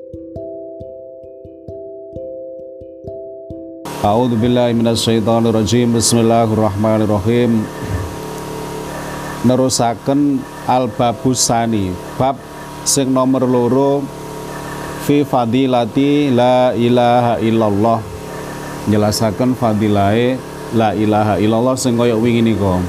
A'udzubillahi minasyaitonirrajim. Bismillahirrahmanirrahim. Nerusaken al-babusani, bab sing nomor loro, fi fadilati la ilaha illallah. Jelasaken fadilahe la ilaha illallah sing kaya wingi nika.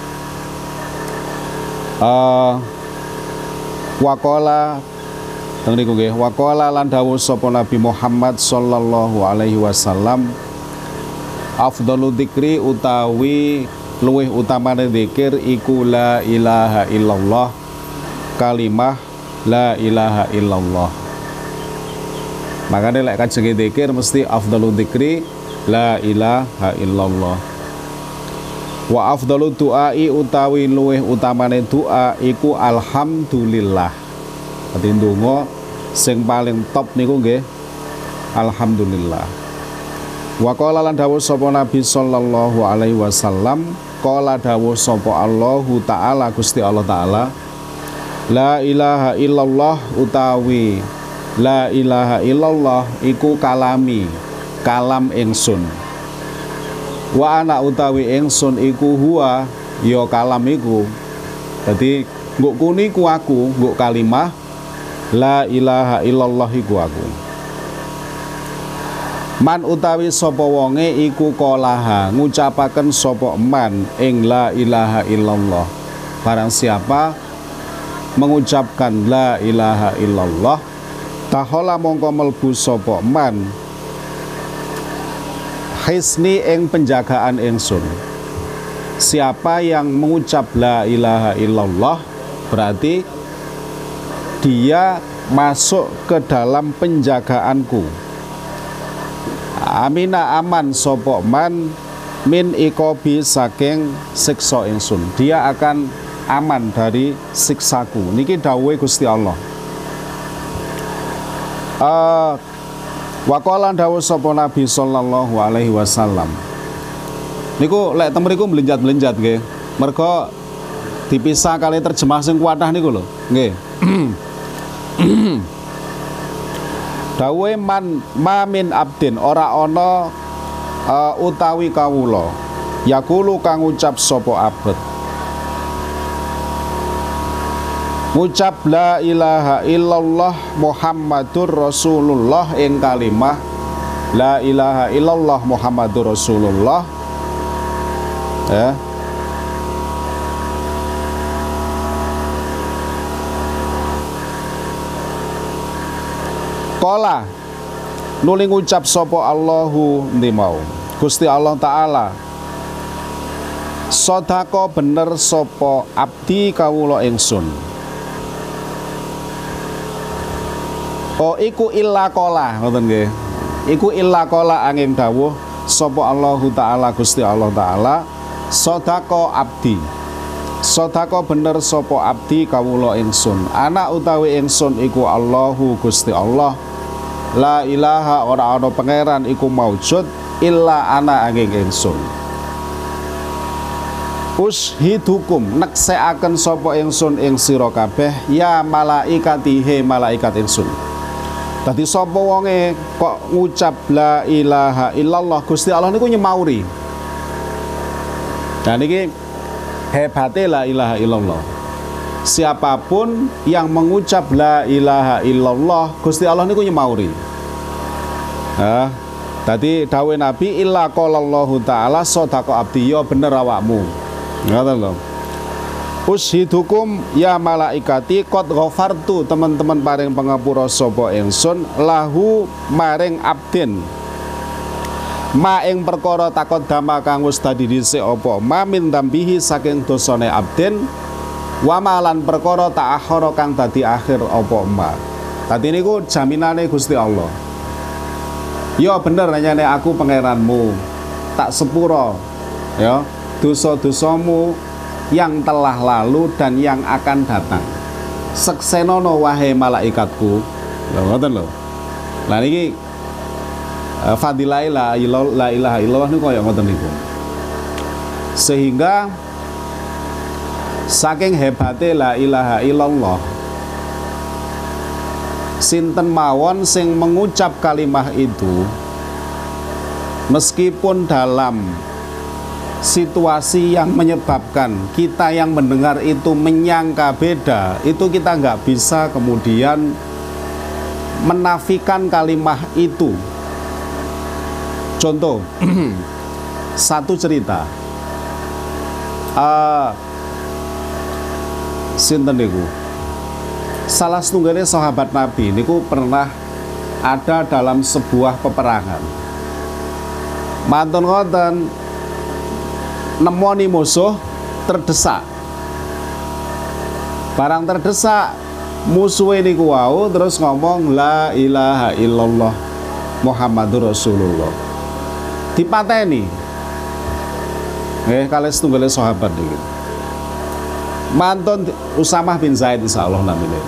Waqala teng niku nggih, waqala lan dawuh sapa Nabi Muhammad sallallahu alaihi wasallam, afdalu dzikri utawi luwih utamane zikir iku la ilaha illallah, kalimah la ilaha illallah. Makanya lek kajenge zikir mesti afdalu dzikri la ilaha illallah. Wa afdalu du'ai utawi luwih utamane doa iku alhamdulillah. Dadi ndonga sing paling top niku nggih alhamdulillah. Wa qala lan dawuh sapa Nabi sallallahu alaihi wasallam, qala dawuh sapa Allahu taala, Gusti Allah taala, la ilaha illallah utawi la ilaha illallah iku kalami, kalam ingsun. Wa ana utawi ingsun iku huwa ya kalam iku. Dadi nguk kuni ku aku, nguk kalimah la ilaha illallah iku aku. Man utawi sapa wonge iku qolaha ngucapaken sapa man ing la ilaha illallah. Barang siapa mengucapkan la ilaha illallah, tahola mongko melbu sapa man hisni ing penjagaan ingsun. Siapa yang mengucap la ilaha illallah berarti dia masuk ke dalam penjagaanku. Amina aman sapa man min ikobi saking siksa ingsun. Dia akan aman dari siksaku. Niki dawuhe Gusti Allah. Waqala dawuh sapa Nabi sallallahu alaihi wasallam. Niku lek teng mriku mlenjat-mlenjat nggih. Mergo dipisah kali terjemah sing kuatah niku lho. Nggih. Dawuhe man mamin abdin ora ana utawi kawula yakulu kang ngucap sapa abet. Ngucap la ilaha illallah Muhammadur Rasulullah ing kalimah la ilaha illallah Muhammadur Rasulullah ya. Qala nuli ngucap sapa Allahu ndimau Gusti Allah taala, sodako bener sapa abdi kawula ingsun. Oh iku illa qala, ngoten nggih. Iku illa qala angin dawuh sapa Allahu taala Gusti Allah taala, sodako abdi. Sodako bener sapa abdi kawula ingsun. Anak utawi ingsun iku Allahu Gusti Allah. La ilaha ora ana pangeran iku maujud illa ana angin ingsun. Ushidukum neksekaken sapa ingsun ing sira kabeh ya malaikati he malaikat ingsun. Dadi sapa wonge kok ngucap la ilaha illallah Gusti Allah niku nyemauri. Dan iki hebate la ilaha illallah. Siapapun yang mengucap la ilaha illallah Gusti Allah niku nyemauri. Tadi dawuh Nabi illa qalallahu taala sadaqa abdi, ya bener awakmu. Ngoten lho. Ushidukum ya malaikati qad ghafartu, teman-teman paring pangapura sapa ingsun lahu maring abdin ma ing perkara takon dama kang wis dadi dhisik apa ma min dambihi saking dosane abdin wa malan perkara ta'akhara kang dadi akhir apa ma. Dadi niku jaminane Gusti Allah. Ya bener nyane aku pangeranmu, tak sepuro ya dosa-dosamu yang telah lalu dan yang akan datang. Seksenono wahai malaikatku. Lho ngoten lho. Lah niki fadilah la ilaha illallah niku kaya ngoten niku. Sehingga saking hebate la ilaha illallah sinten mawon sing mengucap kalimah itu meskipun dalam situasi yang menyebabkan kita yang mendengar itu menyangka beda, itu kita nggak bisa kemudian menafikan kalimah itu. Contoh, satu cerita, sinten niku, salah setunggalnya sahabat Nabi niku pernah ada dalam sebuah peperangan. Mantun ngoten, nemoni musuh terdesak. Barang terdesak, musuh ini wau terus ngomong la ilaha illallah Muhammadur Rasulullah. Dipateni. Kalian setunggalnya sahabat iki. Mantun Usamah bin Zaid insyaallah namanya.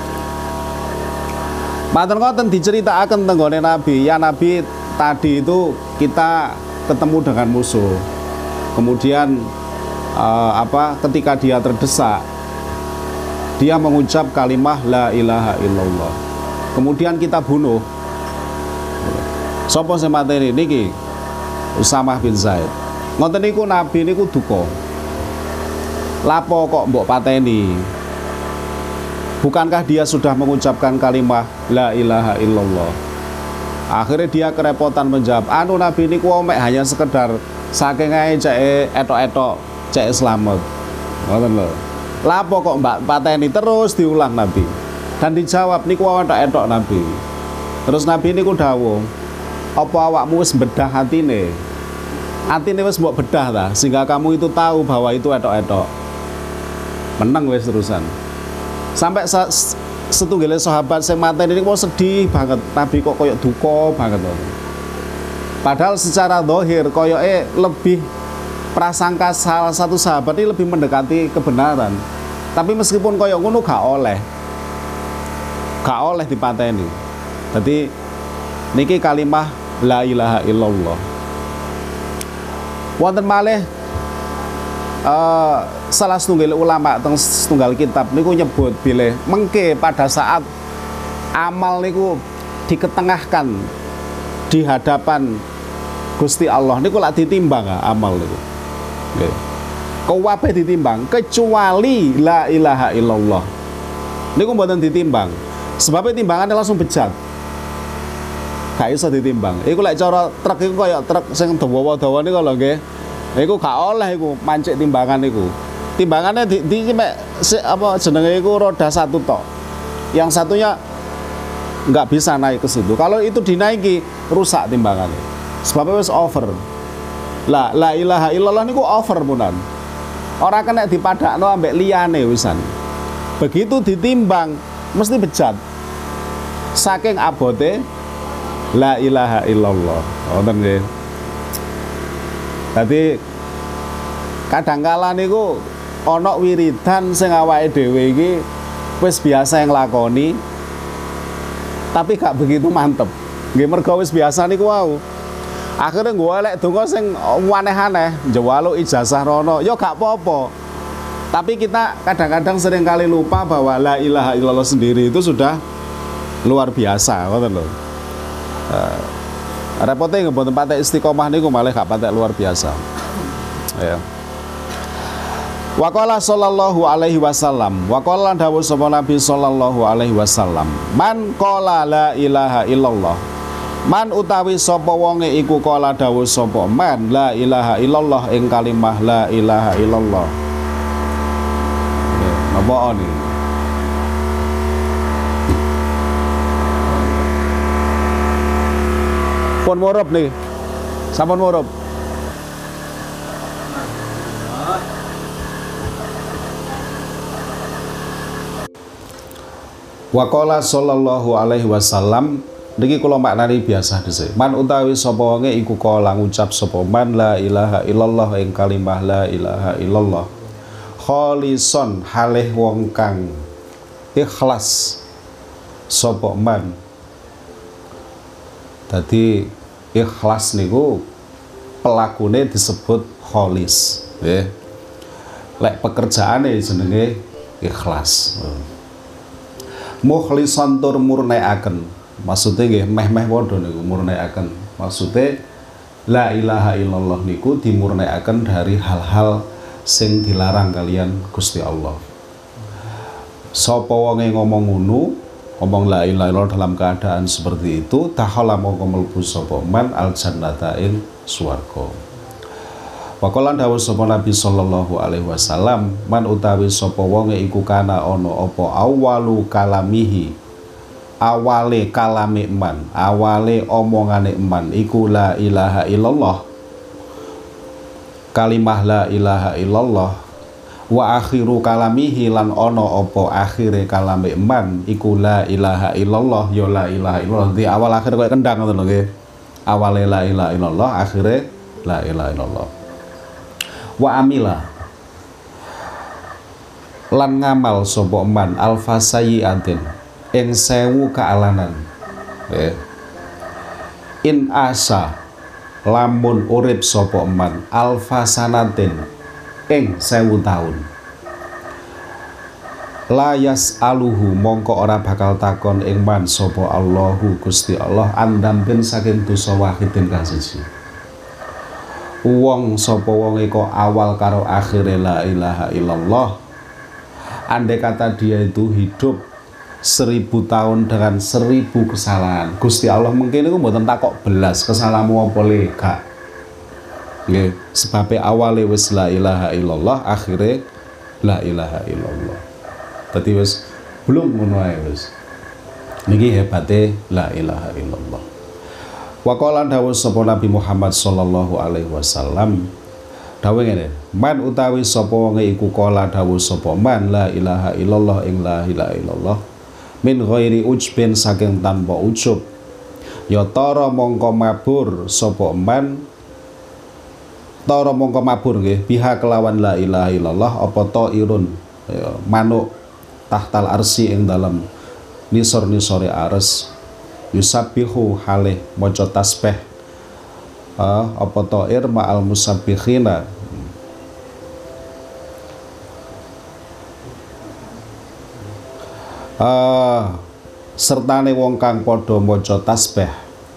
Mantun ngoten diceritakan tenggone Nabi, ya Nabi tadi itu kita ketemu dengan musuh. Kemudian ketika dia terdesak, dia mengucap kalimah la ilaha illallah. Kemudian kita bunuh. Sapa sing mateni niki? Usamah bin Zaid. Ngoten niku Nabi niku duka. Lapo kok mbok pateni? Bukankah dia sudah mengucapkan kalimah la ilaha illallah? Akhirnya dia kerepotan menjawab, anu Nabi niku mek hanya sekedar saking ae cek etok-etok cek selamat. Ngoten lho. Lapo kok mbak pateni? Terus diulang Nabi. Dan dijawab niku etok-etok Nabi. Terus Nabi niku dawuh, apa awakmu wis bedah hatine? Atine wis mbok bedah ta sehingga kamu itu tahu bahwa itu etok-etok. Menang wis terusan. Sampai setunggalnya sahabat sing mateni niku sedih banget. Nabi kok koyok duka banget. Padahal secara zahir koyoke lebih prasangka salah satu sahabat ini lebih mendekati kebenaran. Tapi meskipun koyok ngono gak oleh dipateni. Jadi niki kalimah la ilaha illallah. Wonten malih salah setunggal ulama teng setunggal kitab niku nyebut bilih mengke pada saat amal niku diketengahkan di hadapan Gusti Allah niku lak ditimbang amal niku. Nggih. Kabeh ditimbang kecuali la ilaha illallah. Niku mboten ditimbang. Sebabnya timbangannya langsung bejat. Gak iso ditimbang. Iku lek cara truk iku kaya truk sing dawa-dawa niku lho nggih. Iku gak oleh iku mancik timbangan iku. Timbangannya di apa jenenge iku roda satu tok. Yang satunya nggak bisa naik ke situ. Kalau itu dinaiki rusak timbangannya. Sebabnya wis over. La ilaha illallah niku over punan. Ora kena dipadakno ambek liyane wisan. Begitu ditimbang mesti bejat. Saking abote la ilaha illallah. Wonten nggih. Dadi kadangkala niku ana wiridan sing awake dhewe iki wis biasa yang lakoni tapi gak begitu mantep. Nggih mergo wis biasa niku wau. Akhirnya golek donga sing aneh-aneh, njaluk ijazah rono, ya gak apa-apa. Tapi kita kadang-kadang sering kali lupa bahwa la ilaha illallah sendiri itu sudah luar biasa, ngoten lho. Repote mboten patek istiqomah niku malah gak patek luar biasa. Ya. Waqala sallallahu alaihi wasallam, waqala dawuh sapa Nabi sallallahu alaihi wasallam, man qala la ilaha illallah. Man utawi sapa wonge iku qala dawuh sapa man la ilaha illallah ing kalimah la ilaha illallah. Napa oni? Pun murup nih. Sampun murup. Waqala sallallahu alaihi wasallam niki kula maknani biasa dhisik. Man utawi sapa wonge iku kala ngucap sapa man la ilaha illallah ing kalimah la ilaha illallah. Kholison halih wong kang ikhlas sapa man. Dadi ikhlas niku pelakune disebut kholis, nggih. Lek pekerjaane jenenge ikhlas. mukhlisan tur murniaken. Maksude nggih meh-meh padha niku murniaken. Maksude la ilaha illallah niku dimurniaken dari hal-hal sing dilarang kalian Gusti Allah. Sapa wonge ngomong ngono, ngomong la ilaha illallah dalam keadaan seperti itu, takhala mongko mlebu sapa man al jannata ing swarga. Waqala dawuh sapa Nabi sallallahu alaihi wasallam, man utawi sapa wonge iku kana ana apa awalu kalamihi, awale kalame man, awale omongane man iku la ilaha illallah. Kalimah la ilaha illallah wa akhiru kalamihi lan ana apa akhire kalame man iku la ilaha illallah ya la ilaha illallah. Di awal akhir koyo kendang ngoten lho nggih. Awale la ilaha illallah, akhire la ilaha illallah. Wa amila lan ngamal sapa man alfasayiatin ing 1000 kealanan. In asa lamun urip sapa man alfasanatin ing 1000 taun. Layas aluhu mongko ora bakal takon ing man sapa Allahu Gusti Allah andamben saking dosa wahidin kang siji. Wong sapa wonge kok awal karo akhire la ilaha illallah, andai kata dia itu hidup 1000 tahun dengan 1000 kesalahan, Gusti Allah mungkin itu mboten takok belas kesalahanmu apa le gak. Nggih, sebabe awale wis la ilaha illallah, akhire la ilaha illallah. Dadi wis belum ngono ae wis. Niki hebate la ilaha illallah. Wa qala dawuh sapa Nabi Muhammad sallallahu alaihi wasallam, dawuh ngene, man utawi sapa wonge iku qala dawuh sapa man la ilaha illallah ing la ilaha illallah min ghairi ujbin saking tanpa ujub, ya tara mongko mabur sapa man, tara mongko mabur nggih biha kelawan la ilaha illallah apa tairun ya, manuk tahtal arsi ing dalam nisor-nisore ares, yusabbihu halih maca tasbih apa ta'ir ma'al musabbihina, sertane wong kang padha maca tasbih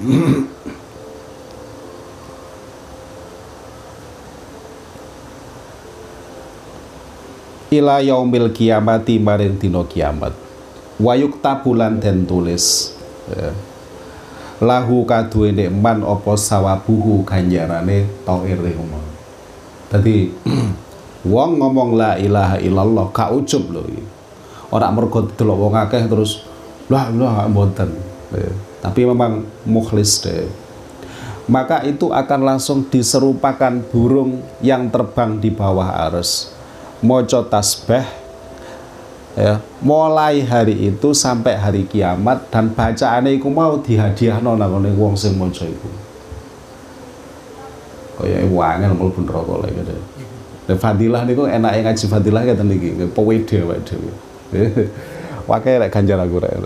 ila yaumil kiamati maring dina kiamat. Wayuk tabulan den tulis ya, lahu kaduwene man apa sawabuhu ganjarane ta'ir umum. Dadi wong ngomong la ilaha illallah gak ujub lho iki. Ora mergo delok wong akeh terus lah mboten. Tapi memang mukhlis deh. Maka itu akan langsung diserupakan burung yang terbang di bawah arsy. Maca tasbih ya, mulai hari itu sampai hari kiamat, dan bacaane iku mau dihadiahno nang wong sing maca iku. Kaya wangel mlebu neraka lek gitu. Fadilah niku enake ngaji fadilah ngeten iki, pewede awake dhewe. Wae rek ganjar aku rek.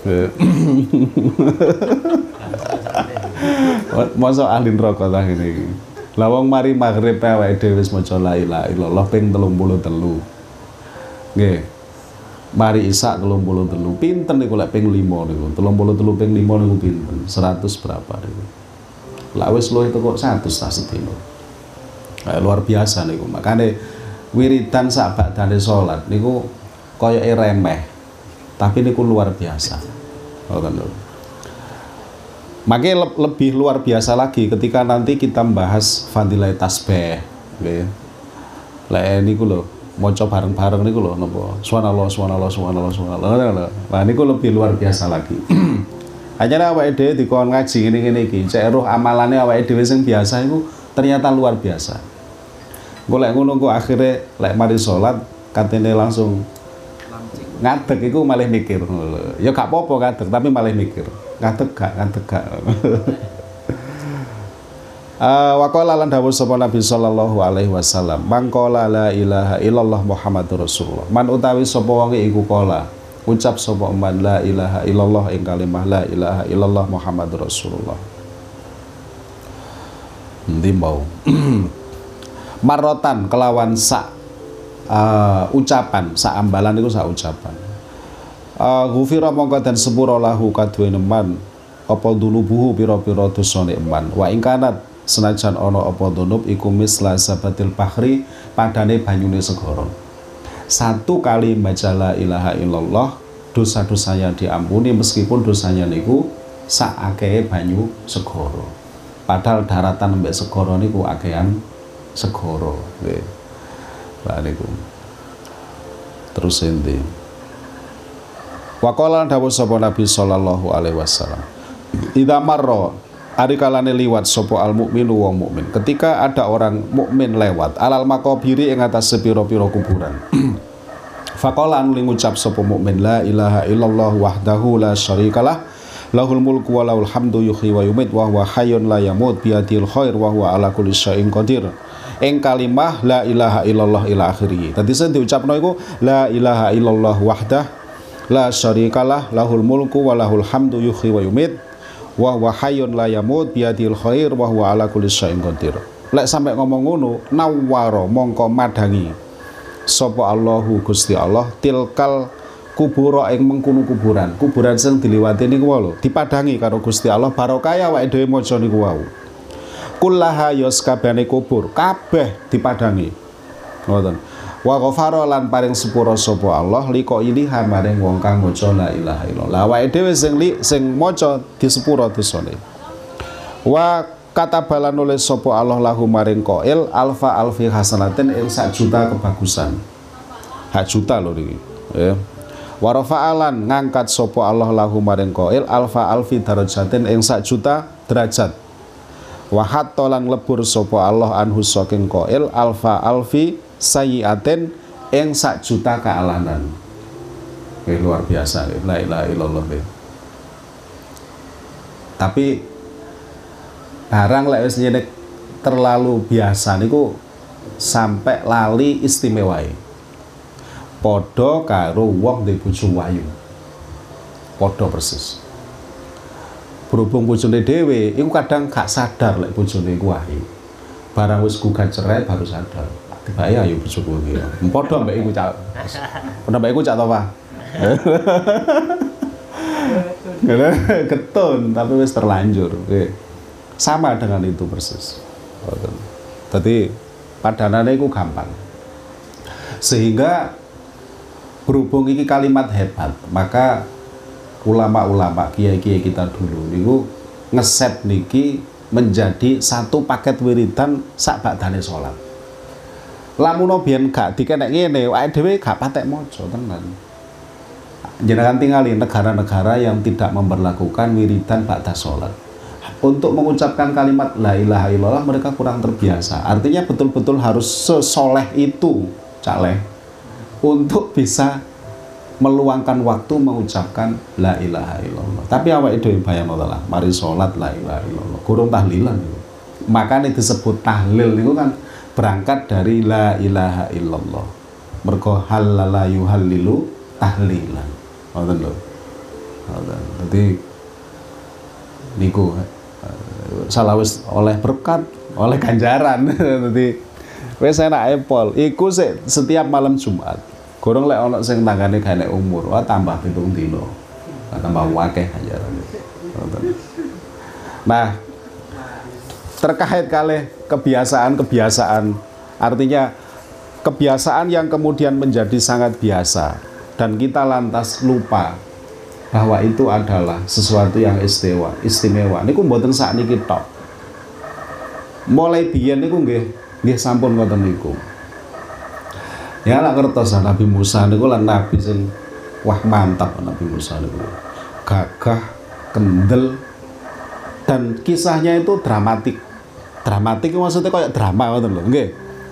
Masa ahli neraka ta ngene iki. Lah wong mari maghrib awake dhewe wis maca la ilaha illallah ping 33. Nggih. Mari isak 33. Pinten niku lek ping 5 niku. 33 ping 5 niku pinten? 100 berapa niku. Lah wis luwih teko 100 ta sedina. Luar biasa niku. Makane wiridan sak badane salat niku koyoke remeh. Tapi niku luar biasa. Ngoten lho. Makanya lebih luar biasa lagi ketika nanti kita membahas fadilah tasbih, nggih. Lek niku lho, maca bareng-bareng niku lho napa? Subhanallah, subhanallah, subhanallah, subhanallah. Nah niku lebih luar biasa lagi. Akhirnya awake dhewe dikon ngaji ngene-ngene iki, cek roh amalane awake dhewe sing biasa iku ternyata luar biasa. Engko lek ngono kok akhire lek mari salat katene langsung ngadeg iku malah mikir. Ya gak apa-apa ngadeg, tapi malah mikir. Ngadeg gak. Wa qala lan dawuh sapa Nabi sallallahu alaihi wasallam, man qala la ilaha illallah Muhammadur Rasulullah. Man utawi sapa wong iku qala ucap sapa man la ilaha illallah ing kalimah la ilaha illallah Muhammadur Rasulullah. Endi mau? Marotan kelawan sak ucapan, sak ambalan itu sak ucapan. Ghufira mongko dan sepura lahu kaduwene man apa dunubuhu pira-pira dosane man. Wa ing kanat senajan ana apa dunub iku misla sabatil bahri padane banyune segara. Satu kali baca la ilaha illallah dosa-dosanya diampuni meskipun dosanya niku sak akehe banyu segara. Padahal daratan mbek segara niku akehan segara. Nggih. Lah niku. Terus ente. Wa qala dawuh sapa Nabi sallallahu alaihi wasallam. Idza marra ari kalane liwat sapa al mukminu wong mukmin. Ketika ada orang mukmin lewat alal makobiri ing atas sepira-pira kuburan. Faqala anu ngucap sapa mukmin la ilaha illallah wahdahu la syarikalah lahul mulku wa lahul hamdu yuhyi wa yumit wa huwa hayyun la yamut bi yadil khair wa huwa ala kulli syai'in qadir. Ing kalimah la ilaha illallah ila akhirih. Dadi sing diucapno iku la ilaha illallah wahdah la syarikalah lahul mulku wa lahul hamdu yuhyi wa yumit wa huwa hayyun la yamut bi yadil khair wa huwa ala kulli syai'in qadir. Lek sampe ngomong ngono nawara mongko madangi sapa Allahu Gusti Allah tilkal kubura ing mengkono kuburan sing diliwati niku lho dipadangi karo Gusti Allah barokah awake dhewe maca niku wau. Kullaha yos kabehane kubur kabeh dipadangi. Ngoten. Wa ghafara lan paring sepura sapa Allah liko ini maring wong kang maca la ilaha illallah. Awake dhewe sing maca disepura dosane. Wa katabalan nulis sapa Allah lahu maring qail alfa alfi hasanatin ing 1 juta kebagusan. Hak juta lho niki. Ya. Wa rafa'alan ngangkat sapa Allah lahu maring qail alfa alfi darajatin ing 1 juta derajat. Wa hatta lan lebur sapa Allah anhu saking qail alfa alfi sayyiatin ing 1 juta kealanan. Luar biasa la ilaha illallah. Tapi barang lek wis nyenek terlalu biasa niku sampai lali istimewae. Padha karo wong ndek bojo wayu. Padha persis. Berhubung bojone dhewe iku kadang gak sadar lek bojone iku wayu. Barang wis gugat cerai baru sadar. Tibae ayo bojoku iki. Padha mbek iku cak. Padha mbek iku cak to, Pak. Ketun tapi wis terlanjur. Sama dengan itu persis. Jadi padanane iku gampang. Sehingga berhubung iki kalimat hebat, maka ulama-ulama kiai-kiai kita dulu niku ngeset niki menjadi satu paket wiridan sak badane salat. Lamun biyen gak dikenek ngene, awake dhewe gak patek maca tenan. Jenengan tingali negara-negara yang tidak memberlakukan wiridan ba'da salat. Untuk mengucapkan kalimat la ilaha illallah mereka kurang terbiasa. Artinya betul-betul harus sesoleh itu caleh untuk bisa meluangkan waktu mengucapkan la ilaha illallah. Tapi awake dhewe bayangno lah, mari salat la ilaha illallah, kurang tahlilan itu. Makanya disebut tahlil itu kan berangkat dari la ilaha illallah. Mergo halala yuhallilu tahlilan. Ngoten lho. Ngoten. Dadi niku salah wis oleh berkat, oleh ganjaran. Dadi wis enak epol. Iku setiap malam Jumat. Gorong lek ana sing tanggane gak enek umur, wah tambah 7 dina. Tambah akeh ganjaran. Nah, terkait kalih kebiasaan-kebiasaan, artinya kebiasaan yang kemudian menjadi sangat biasa dan kita lantas lupa bahwa itu adalah sesuatu yang istimewa. Niku mboten sakniki tok. Mulai biyen niku nggih sampun ngoten niku. Ya lak kertos Nabi Musa niku lan nabi sing wah mantap Nabi Musa niku. Gagah, kendel dan kisahnya itu dramatik. Dramatik maksudnya kayak drama ngoten lho, nggih.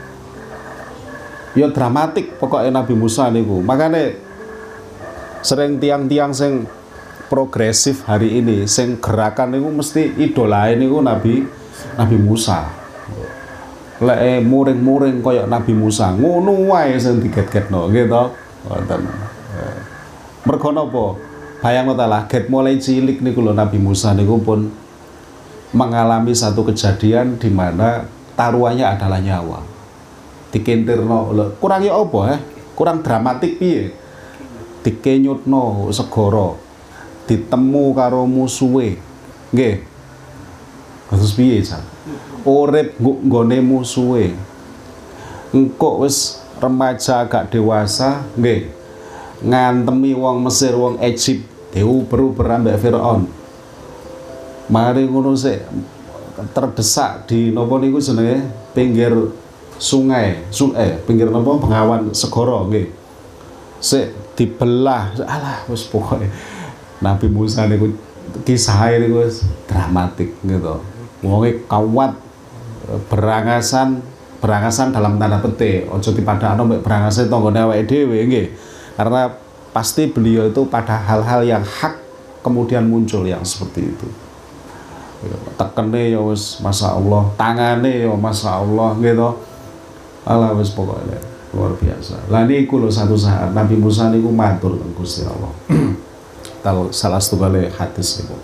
Ya dramatik pokoknya Nabi Musa niku. Makane sering tiang-tiang sing progresif hari ini sing gerakan niku mesti idolae niku Nabi Musa. Lek muring-muring kaya Nabi Musa ngono wae sing diget-getno nggih to. Ngoten. Mergo napa? Bayangno ta lah get mulai cilik niku lho Nabi Musa niku pun mengalami satu kejadian di mana taruhannya adalah nyawa. Dikentirno lho kurang ya apa kurang dramatik piye? dikenyutno segara ditemu karo musuhe nggih terus piye Jan urip nggone musuhe engko wis remaja agak dewasa nggih ngantemi wong Mesir wong Egypt diuber-uber ambek Firaun mari ngono sik terdesak di napa niku jenenge pinggir sungai pinggir napa bengawan segara nggih sik dibelah alah wis pokoke Nabi Musa niku kisah niku wis dramatik gitu wonge kawat berangasan dalam tanda petik aja dipadakno mek berangase tanggane awake dhewe nggih karena pasti beliau itu pada hal-hal yang hak kemudian muncul yang seperti itu tekene ya wis masyaallah tangane ya masyaallah gitu ala wis pokoknya luar biasa lah niku lho satu saat Nabi Musa niku matur nang Gusti Allah salah setunggal hadis niku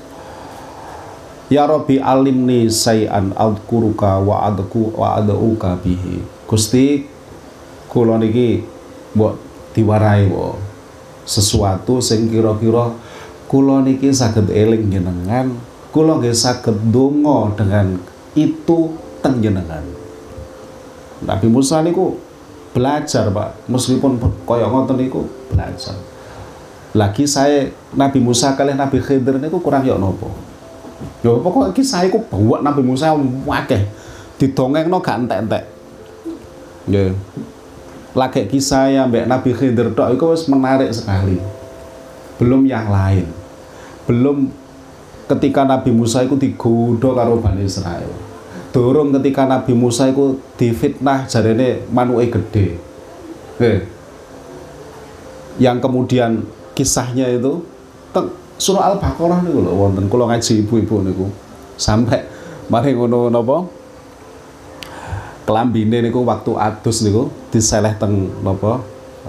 ya Rabbi alimni sayan adkuruka wa aduka bihi Gusti kula niki mbok diwarai wo sesuatu sing kira-kira kula niki saged eling jenengan kula nggih saged donga dengan itu teng jenengan Nabi Musa niku belajar Pak meskipun kaya ngoten niku belajar lagi saya Nabi Musa kali Nabi Khidir niku kurang ya napa ya pokoknya kisah iku buat Nabi Musa akeh didongengno gak entek-entek nggih lagi kisah yang mbak Nabi Khidir tok itu menarik sekali belum yang lain belum ketika Nabi Musa itu digodho karo Bani Israil durung ketika Nabi Musa itu difitnah jarene manuke gede yang kemudian kisahnya itu surah Al-Baqarah niku lho wonten kula ngaji ibu-ibu niku sampai mari ngono napa kelambine niku waktu adus niku diseleh teng napa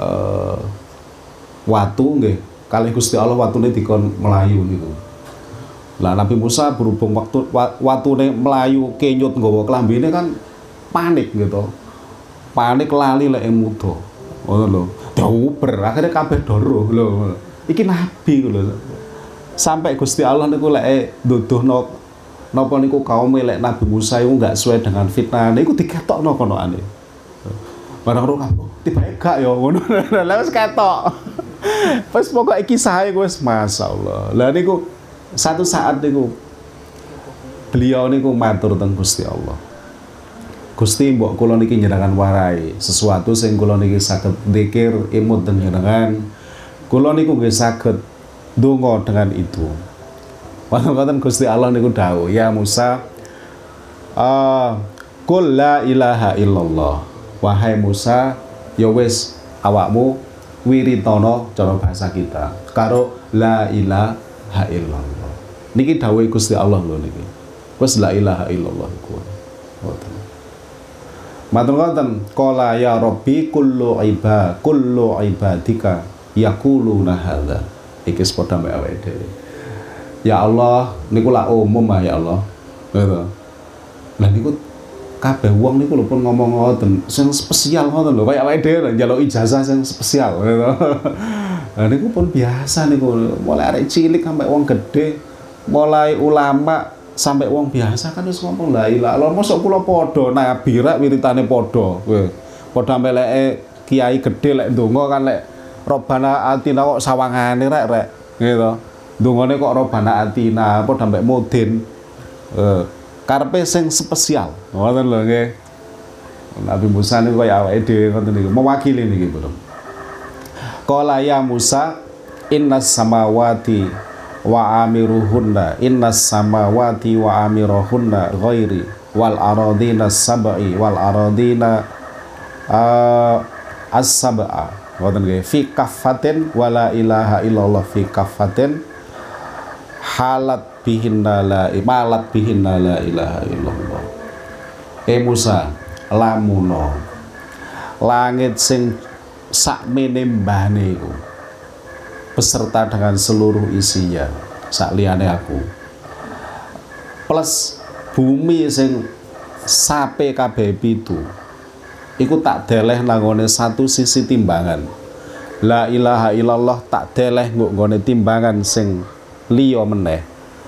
watu nggih kalih Gusti Allah watune dikon melayu niku. Lah Nabi Musa berhubung waktu watune melayu kenyut nggawa kelambine kan panik gitu. Panik lali lek muda. Ngono lho. Diuber akhirnya kabeh doro lho. Iki nabi lho. Sampai Gusti Allah niku lek nduduhno napa niku kaum lek Nabi Musa iku enggak sesuai dengan fitnah niku diketokno konokane. Barang ora tiba gak ya ngono. Lah wis ketok. Wis pokoke kisahe wis masyaallah. Lah niku satu saat niku beliau niku matur teng Gusti Allah. Gusti mbok kula niki njenengan warai sesuatu sing kula niki saged dzikir imut teng njenengan. Kula niku nggih saged ndonga dengan itu. Wonten Gusti Allah niku dawuh, ya Musa, qul la ilaha illallah. Wahai Musa, ya wis awakmu wiritana cara bahasa kita karo la ilaha illallah. Niki dawuh Gusti Allah lho niki. Wis la ilaha illallah iku. Ngoten. Matur ngoten, qala ya Rabbi kullu ibadika yaquluna hadza. Iki padha mek awake dhewe. Ya Allah, niku lak umum ya Allah. Gitu. Lah niku kabeh wong niku lho pun ngomong ngoten, sing spesial ngoten lho, kaya awake dhewe njaluk ijazah sing spesial gitu. Lah niku pun biasa niku, mulai arek cilik sampai wong gede, mulai ulama sampai wong biasa kan wis ngomong la ilaha illallah. Mosok kula padha nabi rek wiritane padha. Kowe padha meleke kiai gede lek ndonga kan lek Robbana atina kok sawangane rek gitu. Dungane kok Robbana atina apa sampai mudin karepe sing spesial ngoten lho nggih. Nabi Musa niku kaya awake dhewe ngoten niku mewakili niki Bro. Qala ya Musa innas samawati wa amiruhunna innas samawati wa amiruhunna ghairi wal aradina sab'i wal aradina as-sab'a ngoten nggih fi kaffatin wala ilaha illallah fi kaffatin halat bihinna la ilaha illallah. Musa lamuno langit sing sakmene mbane iku beserta dengan seluruh isinya sak liyane aku plus bumi sing sape kabeh pitu iku tak deleh nangone satu sisi timbangan La ilaha illallah tak deleh nggone timbangan sing liya meneh.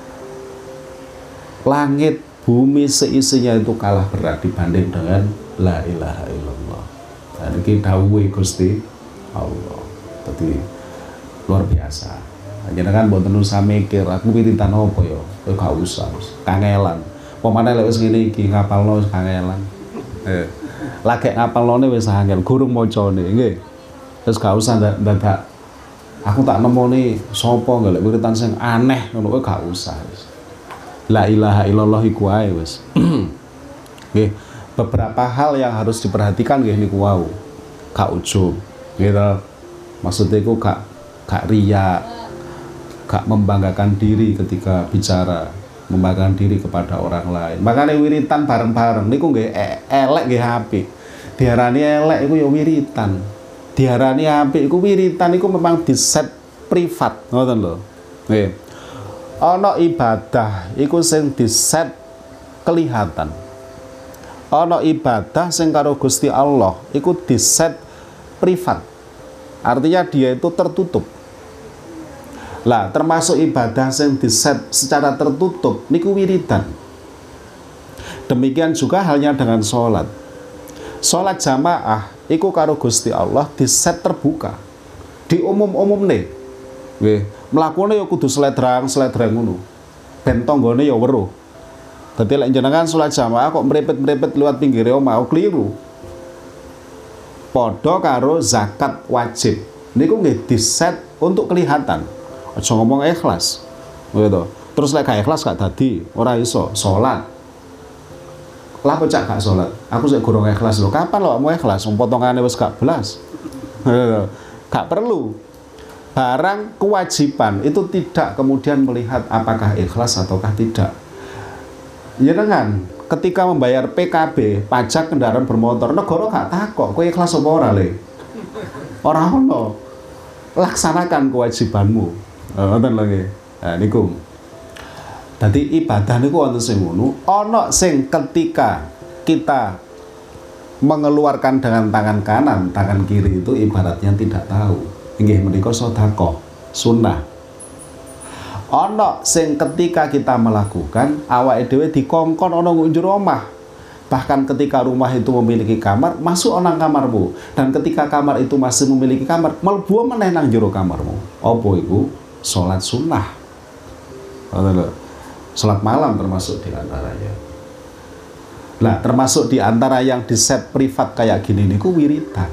Langit bumi seisinya itu kalah berat dibanding dengan la ilaha illallah. Dan ini dawuhe Gusti Allah. Jadi luar biasa. Jenengan mboten usah mikir aku wiritan apa ya. Kowe gak usah. Kangelan. Pemane lek wis ngene iki ngapalno wis kangelan. Lagi ngapalone wis angel, gurung macane nggih. Terus gak usah dadak aku tak nemoni sapa golek wiritan sing aneh ngono kowe gak usah. La ilaha illallah iku ae wis. Nggih, beberapa hal yang harus diperhatikan nggih niku wau. Gak ujub, gitu. Maksudnya iku gak riya, gak membanggakan diri ketika bicara, membanggakan diri kepada orang lain. Makanya wiritan bareng-bareng niku nggih elek nggih apik. Diarani elek iku ya wiritan. Diarani apik iku wiritan iku memang diset privat, ngoten lho. Nggih. Ana ibadah iku sing diset kelihatan. Ana ibadah sing karo Gusti Allah iku diset privat. Artinya dia itu tertutup. Lah, termasuk ibadah sing diset secara tertutup niku wiridan. Demikian juga halnya dengan sholat. Sholat jamaah iku karo Gusti Allah diset terbuka. Di umum-umumne. Nggih, mlakune ya kudu sledrang ngono. Ben tanggane ya weruh. Dadi lek jenengan sholat jamaah kok mrepet-mrepet liwat pinggire omah kliru. Padha karo zakat wajib. Niku nggih diset untuk kelihatan. Aja ngomong ikhlas. Gitu. Terus lek gak ikhlas gak dadi, ora iso salat. Lah kok cak gak salat? Aku sik gorong ikhlas lho. Kapan lho mau ikhlas? Potongane wis gak belas. Gak perlu. Barang kewajiban itu tidak kemudian melihat apakah ikhlas ataukah tidak. Ya dengan ketika membayar PKB, pajak kendaraan bermotor, negara gak takok kowe ikhlas apa ora le. Ora ono. Laksanakan kewajibanmu. Ngoten lho nggih. Nah niku. Dadi ibadah niku wonten sing ngono, ana sing ketika kita mengeluarkan dengan tangan kanan, tangan kiri itu ibaratnya tidak tahu. Inggih menika sedekah sunnah. Ana sing ketika kita melakukan awake dhewe dikongkon ana njero omah. Bahkan ketika rumah itu memiliki kamar, masuk nang kamarmu. Dan ketika kamar itu masih memiliki kamar, mlebu meneh nang njero kamarmu. Apa iku? Salat sunnah. Salat malam termasuk di antaranya. Nah, termasuk di antara yang di set privat kayak gini niku wiridan.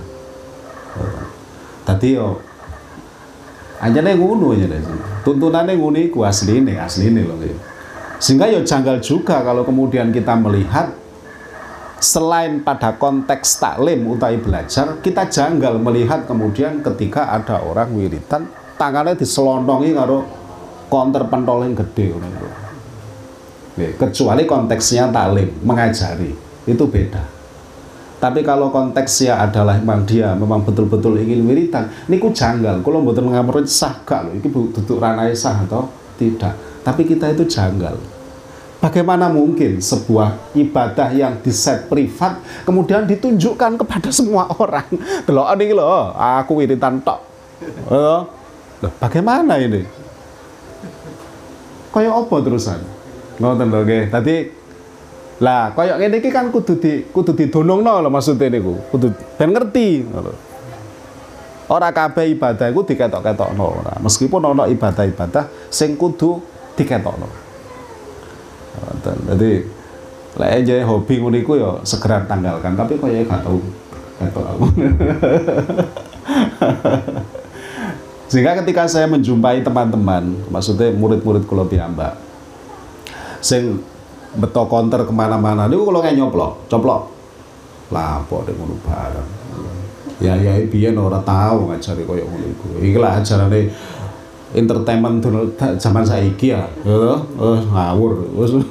Tadi yo anjane ngono ya. Tuntunane ngono iku asline lho. Sehingga yo janggal juga kalau kemudian kita melihat selain pada konteks taklim utawi belajar, kita janggal melihat kemudian ketika ada orang wiridan tangannya diselondongi karo konter pentol yang gede ngono. Kecuali konteksnya taklim, mengajari, itu beda. Tapi kalau konteksnya adalah memang dia memang betul-betul ingin wiridan, niku janggal. Kalau mboten ngamrut sah gak lho, iki duduk ranai sah atau tidak. Tapi kita itu janggal. Bagaimana mungkin sebuah ibadah yang diset privat kemudian ditunjukkan kepada semua orang? Delok niki lho, aku wiridan tok. Loh, bagaimana ini? Kayak apa terusan? Ngoten lho nggih. Dadi lah kaya ngene iki kan kudu didonongno lho maksudnya niku. Kudu ben ngerti ngono. Ora kabeh ibadah iku diketok-ketokno ora. Meskipun ana ibadah-ibadah sing kudu diketokno. Ngoten. Dadi lek aja hobi ngono iku ya segera tanggalkan, tapi kaya gak tau ketok aku. Sehingga ketika saya menjumpai teman-teman, maksudnya murid-murid kula piyambak sing beto konter kemana-mana niku kalau kayak coplok lapor deh ngono bareng ya biyen ora tahu ngajari koyo ngono iku iki lah ajarane entertainment zaman saiki ya ngawur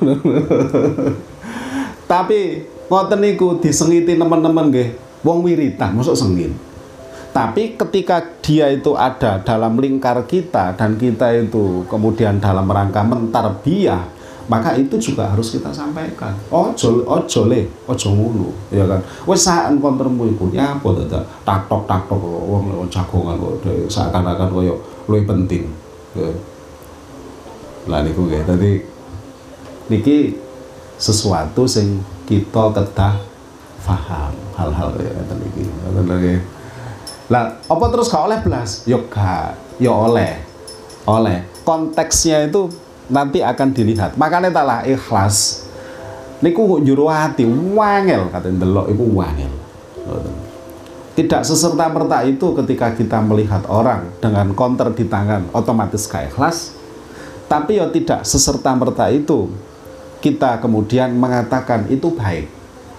tapi ngoten niku disengiti teman-teman nggih wong wiritan mosok sengit. Tapi ketika dia itu ada dalam lingkar kita dan kita itu kemudian dalam rangka mentarbiyah maka itu juga harus kita sampaikan. Ojo ngono, ya kan. Wis sak kontermu iku ya apa dadak taktok wong jagongan kok seakan-akan koyo luwih penting. Lah niku nggih. Dadi niki sesuatu sing kita kedah paham hal-hal ya ngeten iki. Ngoten lho. Lah apa terus gak oleh blas? Yo gak, yo oleh. Konteksnya itu nanti akan dilihat. Makanya taklah ikhlas. Niku njero ati wangel katen delok iku wangel. Tidak seserta-merta itu ketika kita melihat orang dengan counter di tangan otomatis gak ikhlas. Tapi ya tidak seserta-merta itu kita kemudian mengatakan itu baik.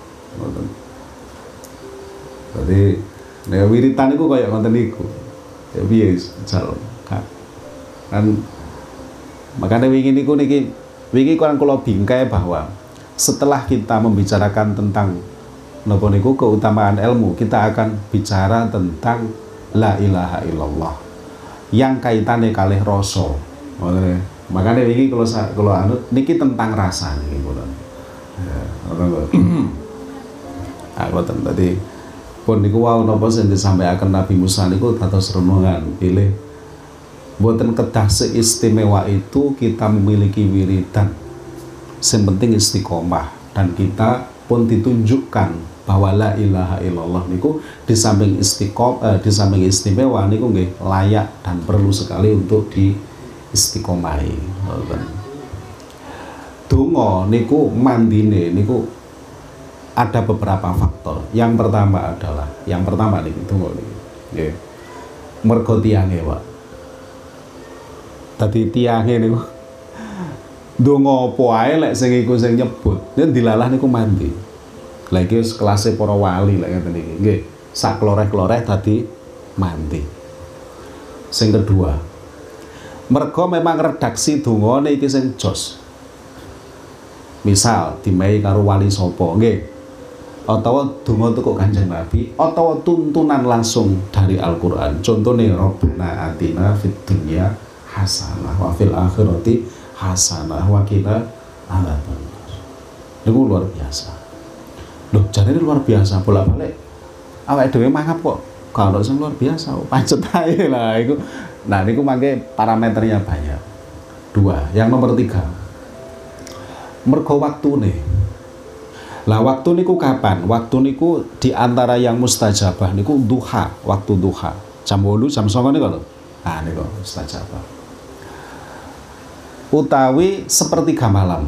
Jadi wiritan itu kayak konten niku. Ya piye kan makanya wingi kurang kula bingkai bahwa setelah kita membicarakan tentang napa niku keutamaan ilmu, kita akan bicara tentang la ilaha illallah yang kaitannya kalih rasa. Makanya wingi kalau anut niki tentang rasa niki kula. Ya, ngoten tadi pun niku wau napa sing disampaikan Nabi Musa niku dados renungan pilih mboten kedah seistimewa itu kita memiliki wiridan. Yang penting istiqomah dan kita pun ditunjukkan bahwa la ilaha illallah niku di samping istimewa niku nggih layak dan perlu sekali untuk diistiqomahi. Donga niku mandine niku ada beberapa faktor. Yang pertama niki donga niki nggih. Mergo tiange, Pak. Tadi tiange niku ndonga apa ae lek sing iku sing nyebut yen dilalah niku mandi. Lah iki wis kelase para wali lek ngeten iki. Nggih, sak kloreh-kloreh tadi mandi. Sing kedua, mergo memang redaksi dongane iki sing jos. Misal dimehi karo wali sapa, nggih. Atawa donga teko Kanjeng Nabi, atawa tuntunan langsung dari Al-Qur'an. Contone Rabbana atina fid dunya hasanah wa fil akhirati hasanah wa qina adzabannar. Niku luar biasa. Loh, jarene luar biasa bolak-balik. Awake dhewe mangap kok gak ono sing luar biasa. Pancet ae lah iku. Nah, niku mangke parameternya banyak. Dua, yang nomor 3. Mergo waktune. Lah waktu niku kapan? Waktu niku di antara yang mustajabah niku duha, waktu duha. Jam 8, jam 9 niku lho. Ah niku mustajabah. Utawi sepertiga malam,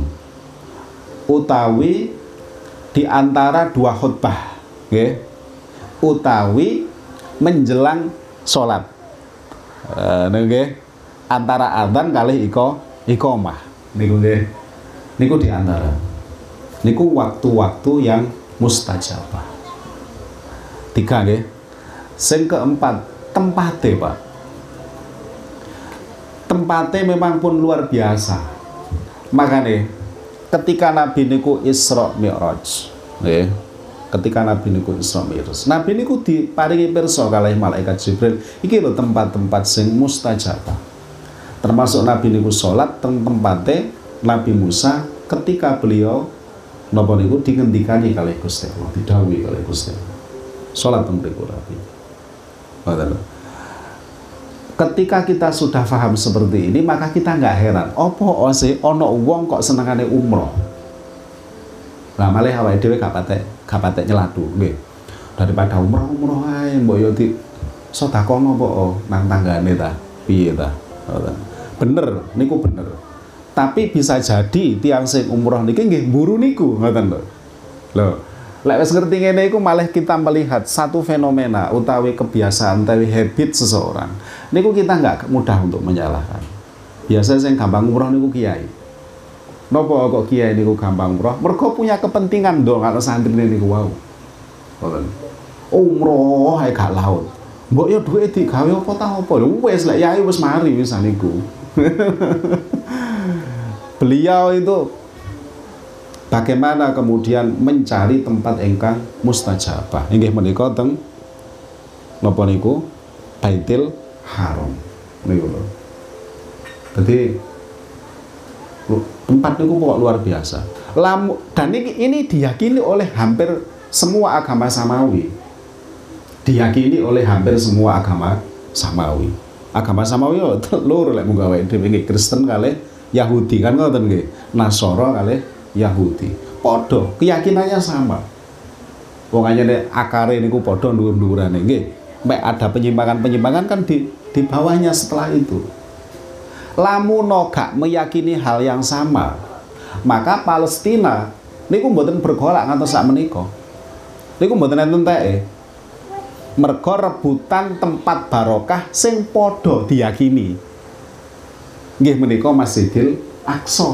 utawi di antara 2 khutbah, nggih, utawi menjelang sholat, nggih, antara adzan kalih iqamah, niku nggih, niku di antara, niku waktu-waktu yang mustajabah. 3 nggih, sing keempat tempate, Pak. Tempatnya memang pun luar biasa. Makanya ketika Nabi niku Isra Mi'raj, ketika Nabi niku Isra Mi'raj, Nabi niku diparingi pirsa kalih malaikat Jibril, iki lho tempat-tempat sing mustajabah. Termasuk Nabi niku salat teng tempatnya Nabi Musa ketika beliau napa niku dingendikani kalih Gusti Allah, didhawuhi kalih Gusti Allah. Salat teng mriku Nabi. Ketika kita sudah paham seperti ini, maka kita nggak heran. Opo sih ono wong kok senengane umroh. Lah malih awake dhewe gak patek nyeladu, nggih. Daripada umroh ae mbok yo di sedakono apa nang tanggane ta. Piye ta? Bener, niku bener. Tapi bisa jadi tiang sing umroh niki nggih mburu niku, ngoten lho. Lho, lek wis ngerti ngene iku malah kita melihat satu fenomena utawi kebiasaan utawi habit seseorang. Niku kita nggak mudah untuk menyalahkan. Biasanya yang gampang umroh niku kiai. Napa kok kiai niku gampang umroh? Mergo punya kepentingan dong kalau santri niku wau. Umroh ae gak laut. Mbok yo duwe digawe apa ta apa? Lho wis lek yai wis mari wis niku. Beliau itu bagaimana kemudian mencari tempat ingkang mustajabah. Inggih menika teng napa niku? Baitul Haram niku lho. Dadi Tempat niku pokok luar biasa. Dan ini diyakini oleh hampir semua agama samawi. Diyakini oleh hampir semua agama samawi. Agama samawi yo telur lek mung gawe dhewe nggih Kristen kalih Yahudi kan ngoten nggih. Nasara kalih Yahudi. Padha keyakinannya sama. Wong anyane akare niku padha dhuwur-dhuwurane nggih. Mek ada penyimpangan-penyimpangan kan di bawahnya setelah itu. Lamun gak meyakini hal yang sama, maka Palestina niku mboten bergolak ngantos sak menika. Niku mboten enten teke. Mergo rebutan tempat barokah sing padha diyakini. Nggih menika Masjidil Aqsa.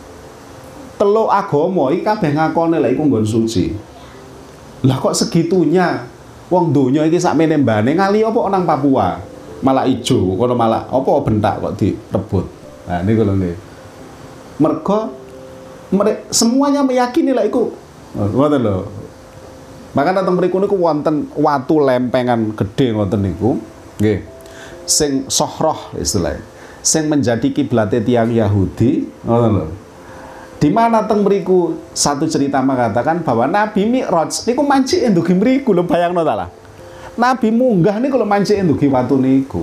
Telu agama iki kabeh ngakoni lek iku nggon suci. Lah kok segitunya wong donya iki sakmene mbane ngali apa nang Papua? Malah ijo, kono malah apa bentak kok direbut. Nah niku lho nggih. Mergo semuanya meyakini lek iku ngoten lho. Maka datang mriku niku wonten watu lempengan gede ngoten niku nggih. Sing Sohroh istilahnya. Sing menjadi kiblate tiang Yahudi ngoten lho. Di mana teng mriku satu cerita mengatakan bahwa Nabi Mi'raj niku mancik ndugi mriku lho bayangno ta lah. Nabi munggah niku lho mancik ndugi watu niku.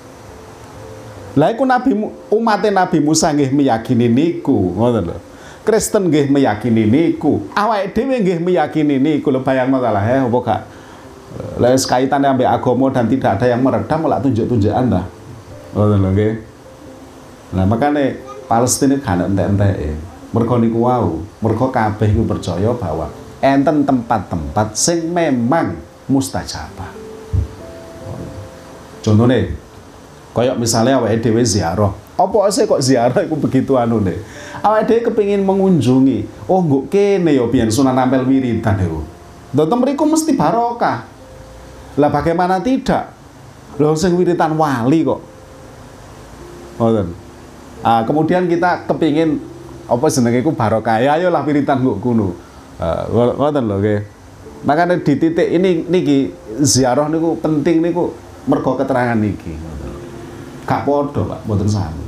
Lah iku umate Nabi Musa nggih meyakini niku ngoten lho. Kristen nggih meyakini niku. Awake dhewe nggih meyakini niku lho bayangno ta lah apa gak. Lah kaitannya ambek agama dan tidak ada yang meredam malah tunjuk-tunjukan dah. Ngoten lho nggih. Nah makane Palestina kan entek-enteke. Mergo niku wau, mergo kabeh iku percaya bahwa enten tempat-tempat sing memang mustajabah. Contohnya, kayak misalnya awake dhewe ziarah. Apa sih kok ziarah iku begitu anune? Awake dhewe kepengin mengunjungi. Oh, nggo kene ya biyen Sunan Ampel wiridan niku. Ndoten mriku mesti barokah. Lah bagaimana tidak? Lho sing wiridan wali kok. Ngoten. Kemudian kita kepingin apa jenenge iku barokah. Ya ayolah wiridan nggo kuno. Ngoten lho nggih. Makanya di titik ini niki ziarah niku penting niku mergo keterangan niki. Gak padha, Pak, mboten sami.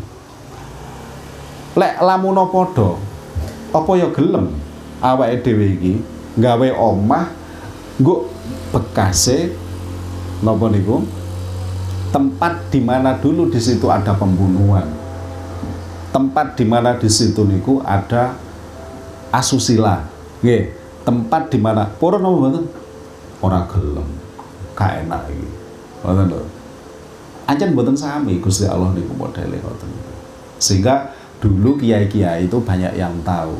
Lek lamun padha, apa ya gelem awake dhewe iki gawe omah nggo bekase napa niku? Tempat di mana dulu di situ ada pembunuhan. Tempat di mana di situ niku ada asusila. Nggih, tempat di mana purun napa mboten? Ora gelem. Gak enak iki. Ngoten lho. Ancen mboten sami Gusti Allah niku modele ngoten. Sehingga dulu kiai-kiai itu banyak yang tahu.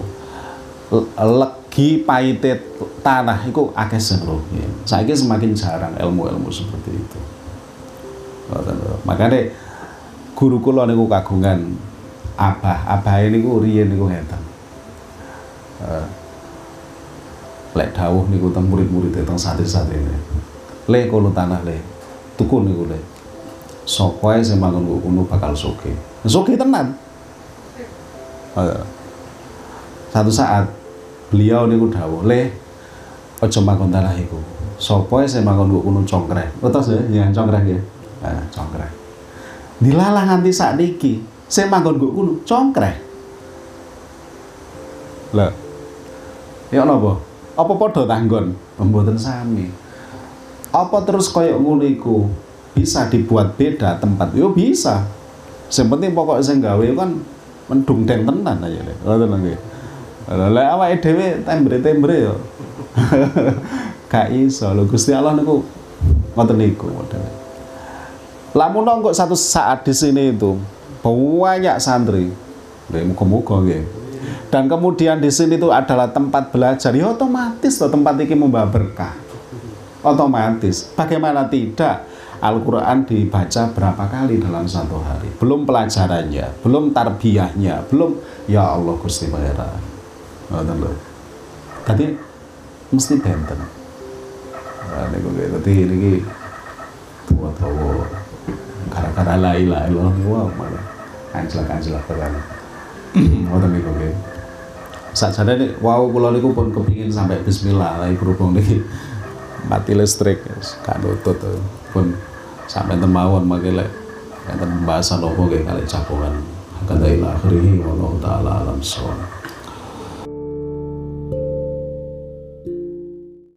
Legi pahite tanah iku akeh sing nggih. Saiki semakin jarang ilmu-ilmu seperti itu. Ngoten lho. Makane guru kula niku kagungan abah niku riyen niku ngeten. Lek dawuh niku teng murid-murid teng santri-santrine. Le kono tanah le. Tuku niku le. Sapa ae sing manggon kono bakal sugih. Sugih tenan. Satu saat beliau niku dawuh, "Le, aja manggon tanah iku. Sapa ae sing manggon kono congkreh." Betul ya, congkreh nggih. Nah, congkreh. Dilalah nganti sakniki. Sing manggon nggo kuno congkreh. Lah. Ya napa? Apa padha tanggon? Mboten sami. Apa terus kaya ngono iku bisa dibuat beda tempat? Yo bisa. Sing penting pokok sing gawe kan mendung deng tenan aja nek. Ngoten nggih. Lah awake dhewe tembre-tembre yo. Gak iso lho Gusti Allah niku ngoten niku modele. Lamun kok satu saat di sini itu banyak santri, muga-muga nggih. Dan kemudian di sini itu adalah tempat belajar, ya otomatis loh tempat ini membawa berkah. Otomatis. Bagaimana tidak? Al-Quran dibaca berapa kali dalam satu hari? Belum pelajarannya, belum tarbiyahnya, belum ya Allah Gusti Pangeran. Ngoten lho. Tadi mesti benten. Nah niku dadi niki tuwa-tuwa gara-gara la ilaha illallah wow malah anjlak-anjlak tenan. Ngoten niku nggih. Sakjane wow kula niku pun kepingin sampai bismillah lha berhubung niki mati listrik gak nutut pun sampai temawon mangke lek enten pembahasan opo nggih kalih cabungan Kada ila akhirih wallahu taala alam shawab.